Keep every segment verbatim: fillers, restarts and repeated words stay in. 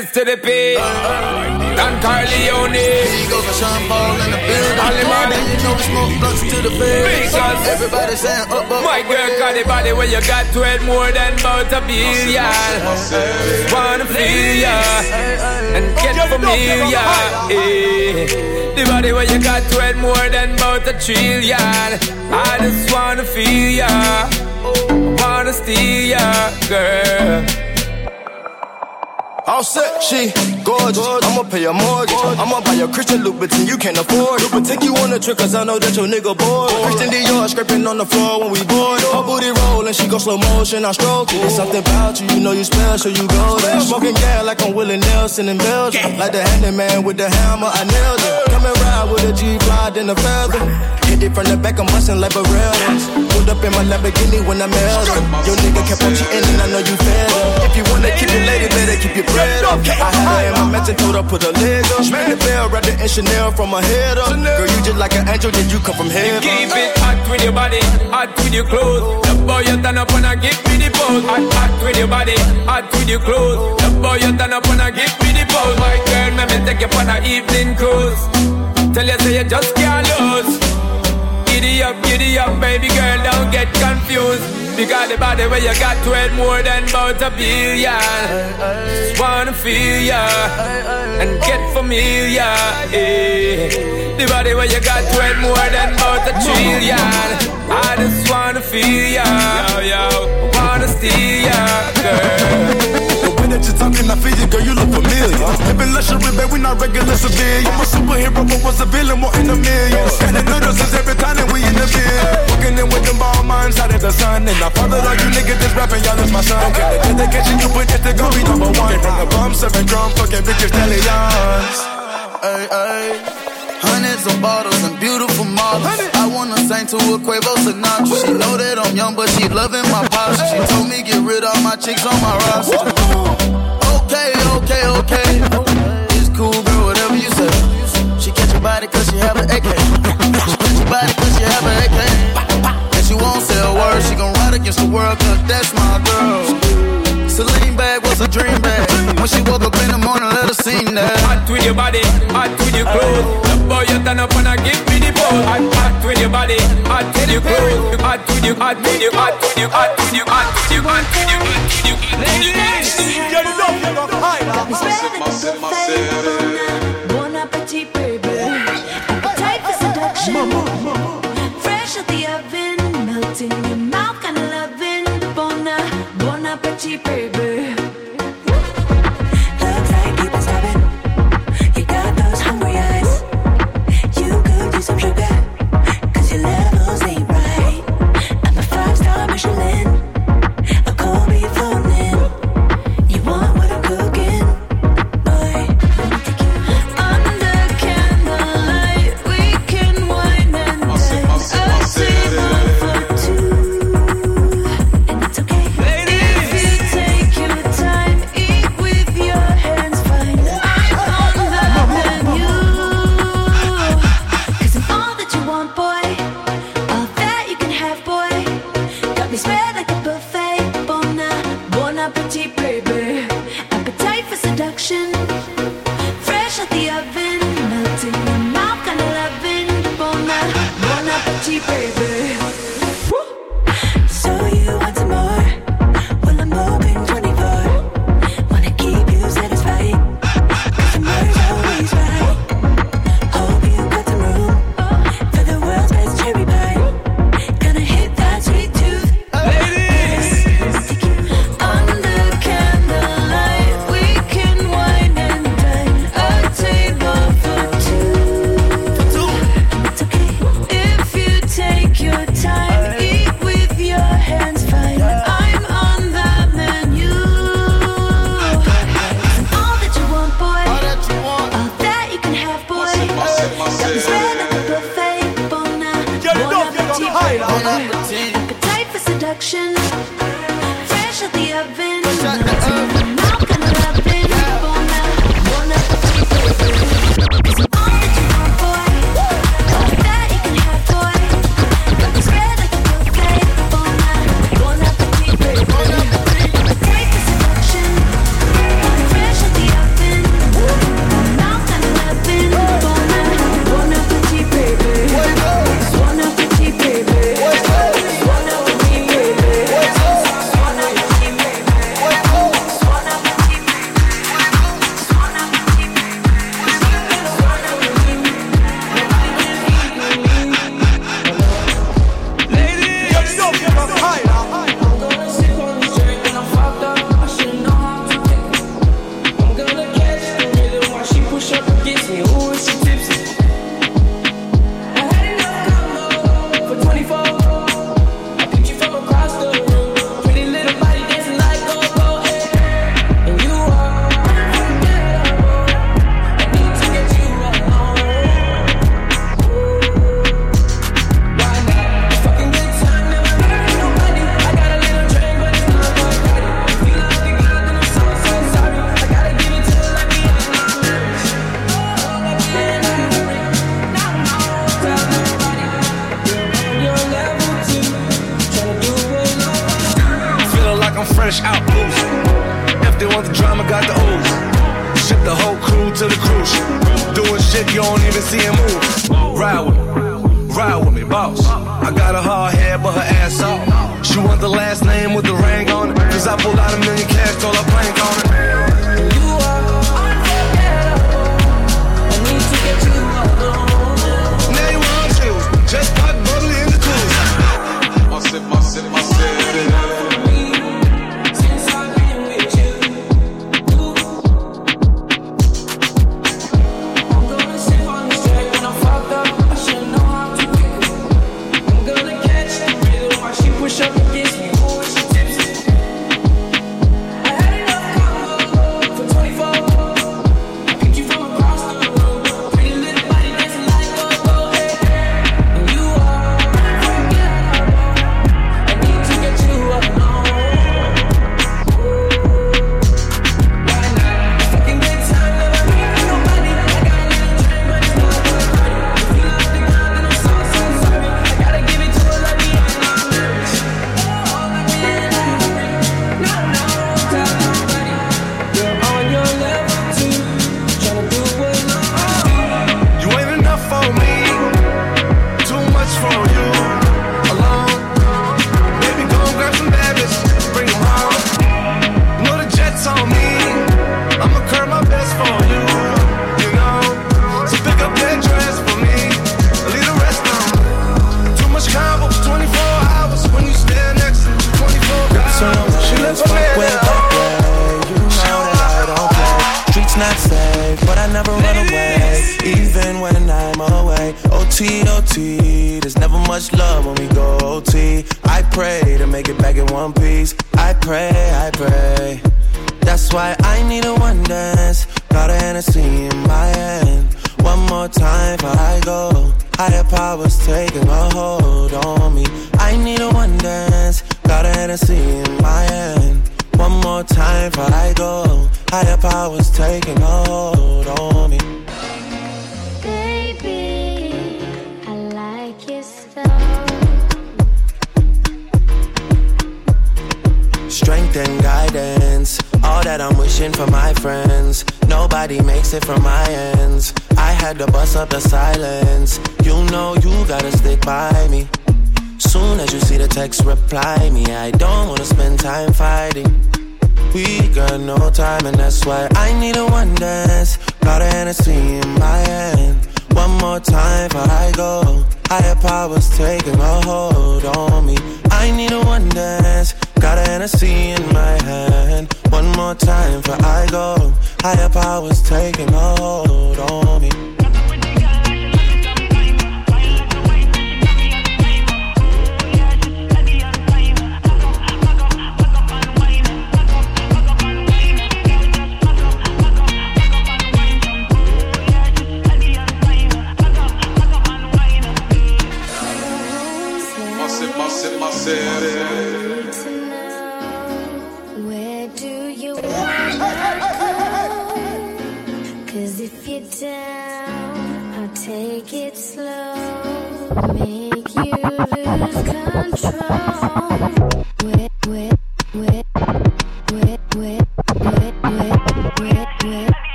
S to the P. Don Corleone. He goes for Sean Paul in the building. Only man. And you know we smoke blunts to the face. Because everybody saying up, up. My girl got the body where you got twelve more than about a billion. Wanna feel ya and get familiar. Eh. The body where you got twelve more than about a trillion. I just wanna feel ya, wanna steal ya, girl. All set, she gorgeous. I'ma pay a mortgage. I'ma buy a Christian Louboutin, you can't afford it. But take you on a trip, cause I know that your nigga bored. Christian Dior scraping on the floor when we bored. Her booty rollin', she go slow motion, I stroke it. It's something about you, you know you special, you go there. Smoking gas like I'm Willie Nelson in Belgium. Like the handyman with the hammer, I nailed it. Come and ride with a G-Fly, then a feather. Hit it from the back, I'm bustin' like Barreras. Pulled up in my Lamborghini when I mailed her. Your nigga kept on cheating and I know you fed her. If you wanna keep your lady, better keep your bread up. I had her in my mansion, told her put her leg up. Ring the bell, wrapped it in Chanel from my head up. Girl, you just like an angel, did you come from heaven? Keep it hot with your body, hot with your clothes. The boy you turn up and I give me the pose. Hot, hot with your body, hot with your clothes. The boy you turn up and I give me the pose. My girl, let me take you on an evening cruise. Tell you say you just can't lose. Giddy up, giddy up, baby girl, don't get confused. Because the body where you got twelve more than about a billion. Just wanna feel ya and get familiar. Eh. The body where you got twelve more than about a trillion. I just wanna feel ya, yo, yo. Wanna steal ya, girl. That you're talking, I feel you, girl, you look familiar. Living luxury, babe, we not regular civilians. I'm a superhero, but was a villain, more in a million. And the noodles is every time that we in the bed. Walking in with them ball minds out of the sun. And I followed all you niggas that's rapping, y'all is my son. Can they catch you, but this they gon' be number one. From the bum, serving drum, fucking bitches, stallions. Ay, ay. Hundreds of bottles and beautiful models. I wanna sing to a Quavo Sinatra. She know that I'm young, but she loving my posture. She told me get rid of my chicks on my roster. Okay, okay, okay. It's cool, girl, whatever you say. She catch your body cause she have an A K. She catch your body cause she have an A K. And she won't say a word. She gon' ride against the world cause that's my girl. Celine bag was a dream bag. When she woke up in the morning, let her sing that. Hot with your body, hot with your clothes. The boy you turn up and I give me the pose. Hot, hot with your body, hot with your clothes. Hot with you, hot with you, hot with you, hot with you, hot with you, hot with you, hot with you, hot with you. Ladies, get it up, get up high. Bon appetit, baby. Appetite for seduction. Fresh out the oven, melting in your mouth, kinda loving. Bon, bon appetit, baby. Appetite for seduction. Fresh out the oven. Mouth kinda loving. Bon appetit, baby. Cause I'm all that you want, boy. All that you can have, boy. Got me spread like a buffet. Bon appetit, baby. Appetite for seduction. Fresh out the oven. drama got the ooze. Ship the whole crew to the cruise ship. Doing shit you don't even see him move. Ride with me, ride with me, boss. I got a hard head, but her ass off. She want the last name with the ring on it. Cause I pulled out a million cash, told her plank on it. You are unforgettable. I need to get you alone. Now you want you, just pop bubbly in the cruise. My sip, my sip, my sip.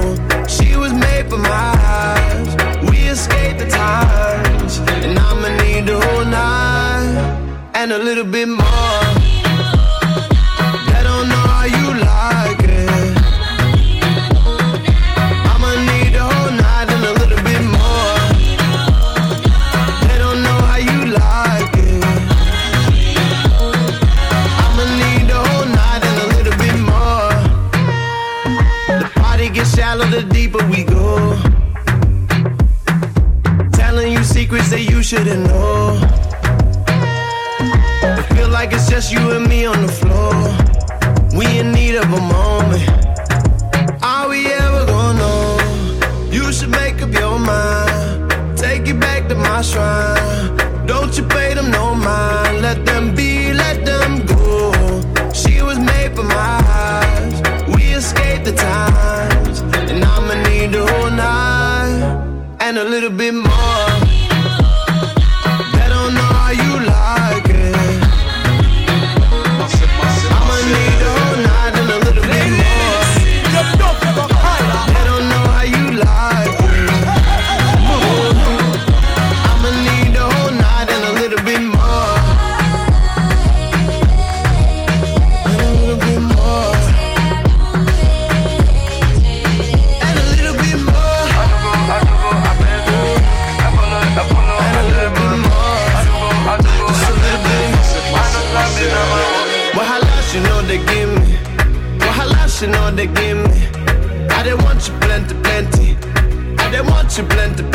For my eyes, we escaped the times, and I'ma need whole night and a little bit more. They don't know how you like it. I'ma need the whole night and a little bit more. They don't know how you like it. I'ma need the whole night and a little bit more. The party gets shallow the deeper we go. Telling you secrets that you shouldn't know. I feel like it's just you and me on the floor. We in need of a moment. Are we ever gonna know? You should make up your mind. Take it back to my shrine. Don't you pay them no mind. Let them be, let them go. She was made for my eyes. We escaped the times. And I'ma need the whole night and a little bit more. They don't know how you like it. I'ma need the whole night and a little bit more. They don't know how you like it. I'ma need the whole night and a little bit more. And a little bit more. And a little bit more. And a little bit more. Just a little bit. Well, how much you know they give me? Well, how much you know they give me? I didn't want you plenty, plenty. I didn't want you plenty,